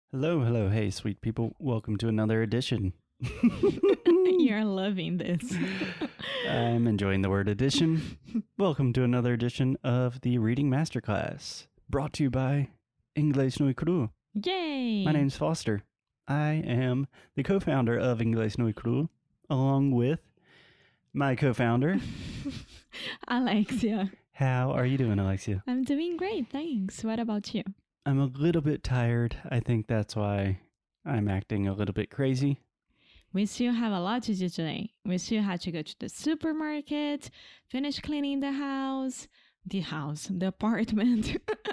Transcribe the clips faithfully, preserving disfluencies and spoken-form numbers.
Hello, hello, hey, sweet people. Welcome to another edition. You're loving this. I'm enjoying the word edition. Welcome to another edition of the Reading Masterclass, brought to you by Inglês no Cru. Yay! My name's Foster. I am the co-founder of Inglês no Cru, along with my co-founder, Alexia. How are you doing, Alexia? I'm doing great, thanks. What about you? I'm a little bit tired. I think that's why I'm acting a little bit crazy. We still have a lot to do today. We still have to go to the supermarket, finish cleaning the house, the house, the apartment,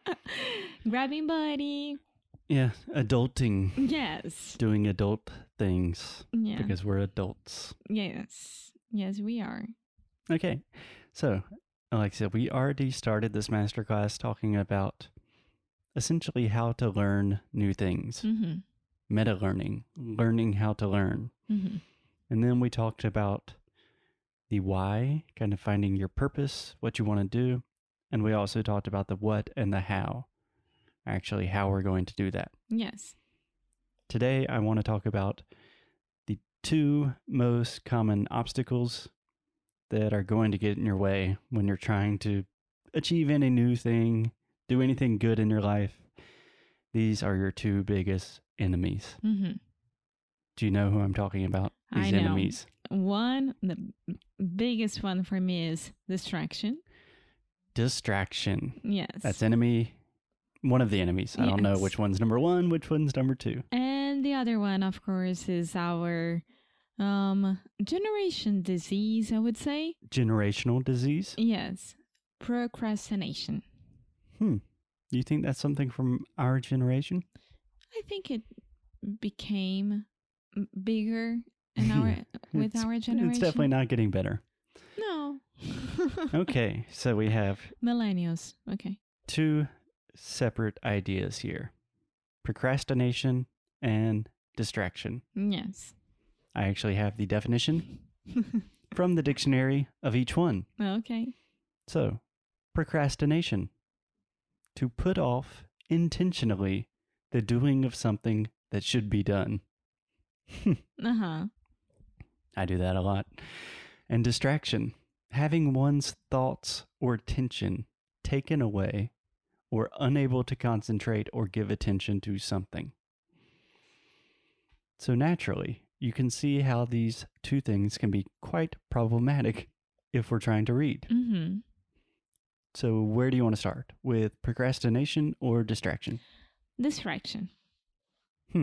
grabbing Buddy. Yeah, adulting. Yes. Doing adult things. Yeah. Because we're adults. Yes. Yes, we are. Okay, so Alexia, we already started this masterclass talking about essentially how to learn new things. Mm-hmm. Meta learning, learning how to learn. Mm-hmm. And then we talked about the why, kind of finding your purpose, what you want to do. And we also talked about the what and the how, actually how we're going to do that. Yes. Today, I want to talk about the two most common obstacles that are going to get in your way when you're trying to achieve any new thing, do anything good in your life. These are your two biggest enemies. Mm-hmm. Do you know who I'm talking about? These I know. enemies. One, the biggest one for me is distraction. Distraction. Yes. That's enemy, one of the enemies. I don't know Yes. which one's number one, which one's number two. And the other one, of course, is our um, generation disease, I would say. Generational disease. Yes. Procrastination. Hmm. You think that's something from our generation? I think it became bigger in our with It's- our generation. It's definitely not getting better. No. Okay, so we have Millennials. Okay. two separate ideas here: procrastination and distraction. Yes. I actually have the definition from the dictionary of each one. Okay. So, procrastination: to put off intentionally the doing of something that should be done. Uh-huh. I do that a lot. And distraction: having one's thoughts or attention taken away or unable to concentrate or give attention to something. So naturally, you can see how these two things can be quite problematic if we're trying to read. Mm-hmm. So where do you want to start? With procrastination or distraction? Distraction. Hmm.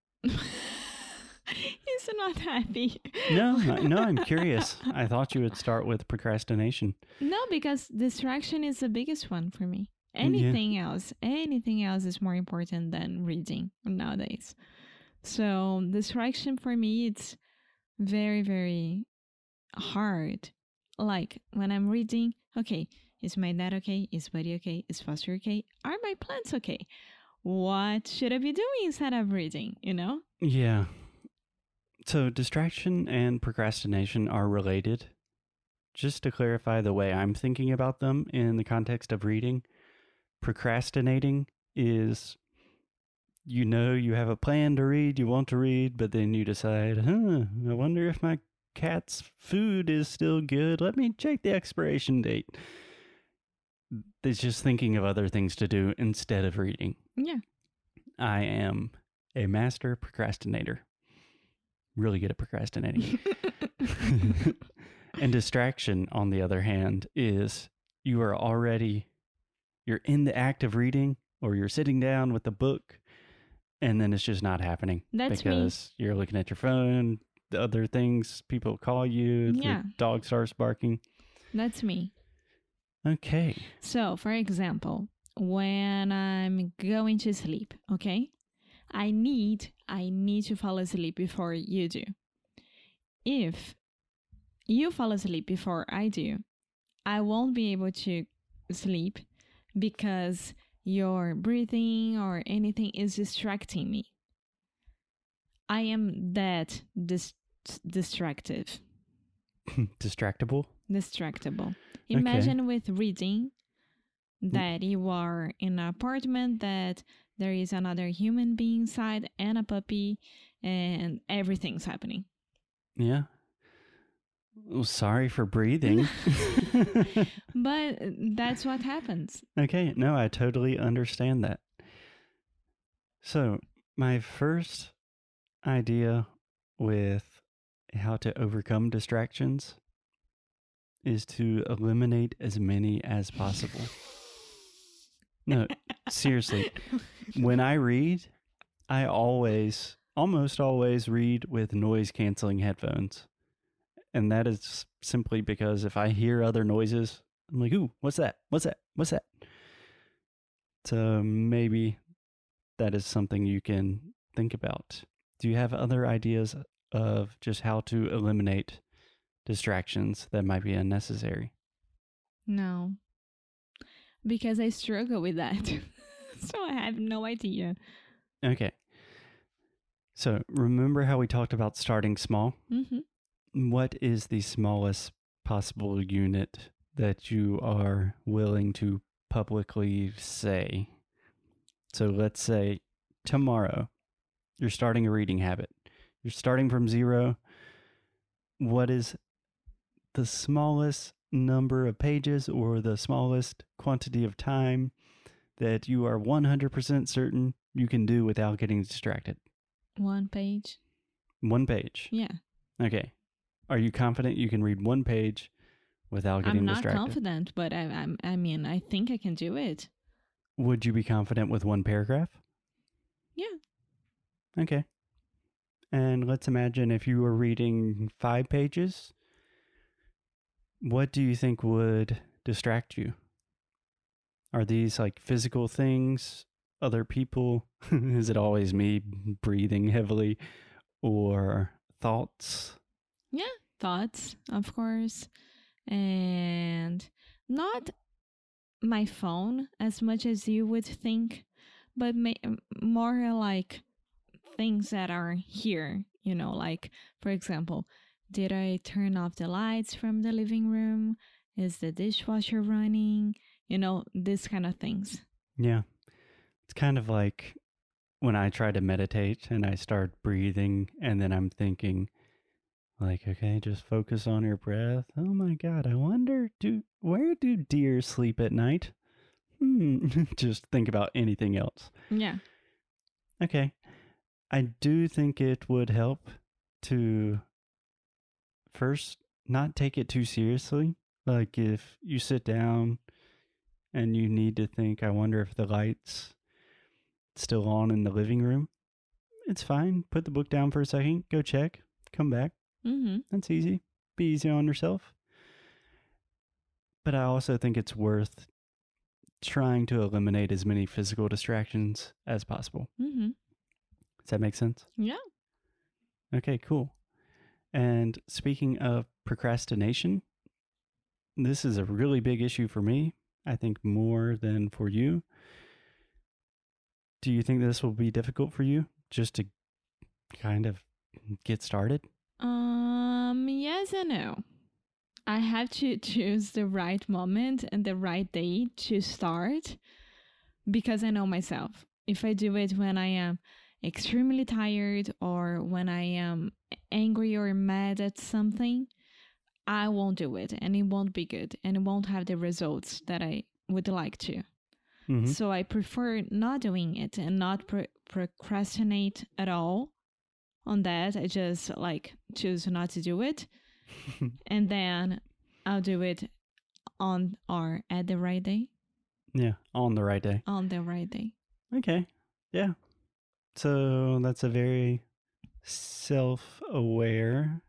He's not happy. No, I- no, I'm curious. I thought you would start with procrastination. No, because distraction is the biggest one for me. Yeah. Anything else, anything else is more important than reading nowadays. So distraction for me, it's very, very hard. Like when I'm reading, okay, is my dad okay? Is Buddy okay? Is Foster okay? Are my plants okay? What should I be doing instead of reading, you know? Yeah. So distraction and procrastination are related. Just to clarify the way I'm thinking about them in the context of reading, procrastinating is, you know, you have a plan to read, you want to read, but then you decide, huh, I wonder if my cat's food is still good. Let me check the expiration date. It's just thinking of other things to do instead of reading. Yeah. I am a master procrastinator. Really good at procrastinating. And distraction, on the other hand, is you are already, you're in the act of reading, or you're sitting down with the book, and then it's just not happening. That's me. because you're looking at your phone, the other things, people call you, Yeah. the dog starts barking. That's me. Okay. So, for example, when I'm going to sleep, okay? I need I need to fall asleep before you do. If you fall asleep before I do, I won't be able to sleep because your breathing or anything is distracting me. I am that dis- distractive. Distractible? Distractible. Imagine with reading that you are in an apartment that there is another human being inside and a puppy, and everything's happening. Yeah. Well, sorry for breathing. But that's what happens. Okay, no, I totally understand that. So, my first idea with how to overcome distractions is to eliminate as many as possible. No, seriously. When I read, I always, almost always read with noise canceling headphones. And that is simply because if I hear other noises, I'm like, ooh, what's that? What's that? What's that? So maybe that is something you can think about. Do you have other ideas of just how to eliminate distractions that might be unnecessary? No, because I struggle with that. So I have no idea. Okay. So remember how we talked about starting small? Mm-hmm. What is the smallest possible unit that you are willing to publicly say? So let's say tomorrow you're starting a reading habit. You're starting from zero. What is the smallest number of pages or the smallest quantity of time that you are one hundred percent certain you can do without getting distracted? One page. One page. Yeah. Okay. Are you confident you can read one page without getting I'm not distracted? confident, but I, I'm, I mean, I think I can do it. Would you be confident with one paragraph? Yeah. Okay. And let's imagine if you were reading five pages, what do you think would distract you? Are these like physical things, other people? Is it always me breathing heavily, or thoughts? Yeah. Thoughts, of course. And not my phone as much as you would think, but ma- more like things that are here, you know, like, for example, did I turn off the lights from the living room? Is the dishwasher running? You know, this kind of things. Yeah. It's kind of like when I try to meditate and I start breathing and then I'm thinking, like, okay, just focus on your breath. Oh my God, I wonder, do where do deer sleep at night? Hmm. Just think about anything else. Yeah. Okay. I do think it would help to first not take it too seriously. Like if you sit down and you need to think, I wonder if the light's still on in the living room. It's fine. Put the book down for a second, go check, come back. Mm-hmm. That's easy. Be easy on yourself. But I also think it's worth trying to eliminate as many physical distractions as possible. Mm-hmm. Does that make sense? Yeah. Okay, cool. And speaking of procrastination, this is a really big issue for me. I think more than for you. Do you think this will be difficult for you just to kind of get started? Um, yes and no. I have to choose the right moment and the right day to start because I know myself. If I do it when I am extremely tired or when I am angry or mad at something, I won't do it and it won't be good and it won't have the results that I would like to. Mm-hmm. So I prefer not doing it and not pro- procrastinate at all on that. I just like choose not to do it. And then I'll do it on or at the right day. Yeah, on the right day. On the right day. Okay. Yeah. So that's a very self-aware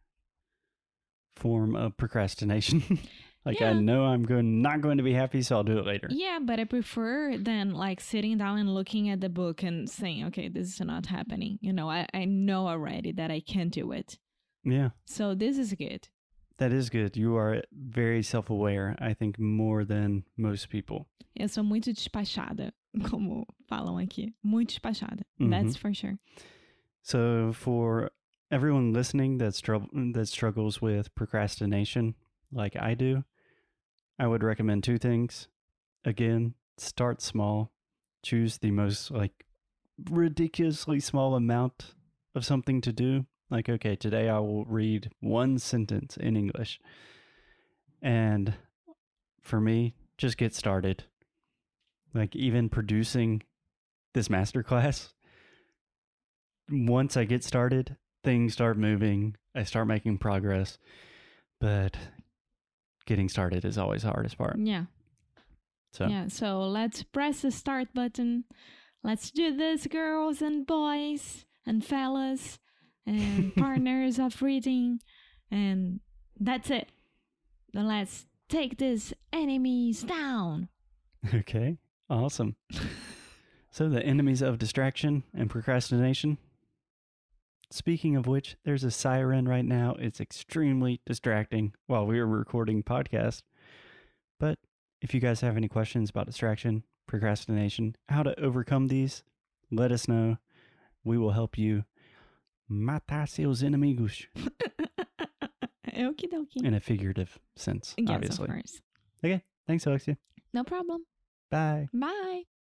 form of procrastination. Like Yeah. I know I'm going not going to be happy, so I'll do it later. Yeah, but I prefer than like sitting down and looking at the book and saying, okay, this is not happening. You know, I, I know already that I can't do it. Yeah. So this is good. That is good. You are very self-aware, I think, more than most people. Eu sou muito despachada, como falam aqui. Muito despachada. Mhm. That's for sure. So for everyone listening that, stru- that struggles with procrastination like I do, I would recommend two things. Again, start small. Choose the most like ridiculously small amount of something to do. Like, okay, today I will read one sentence in English. And for me, just get started. Like, even producing this masterclass, once I get started, things start moving. I start making progress. But getting started is always the hardest part. Yeah. So Yeah. So let's press the start button. Let's do this, girls and boys and fellas and partners of reading. And that's it. Then let's take these enemies down. Okay, awesome. So the enemies of distraction and procrastination. Speaking of which, there's a siren right now. It's extremely distracting while we are recording podcast. But if you guys have any questions about distraction, procrastination, how to overcome these, let us know. We will help you matar seus inimigos. Okie dokie. In a figurative sense, Yes, obviously. of course. Okay, thanks, Alexia. No problem. Bye. Bye.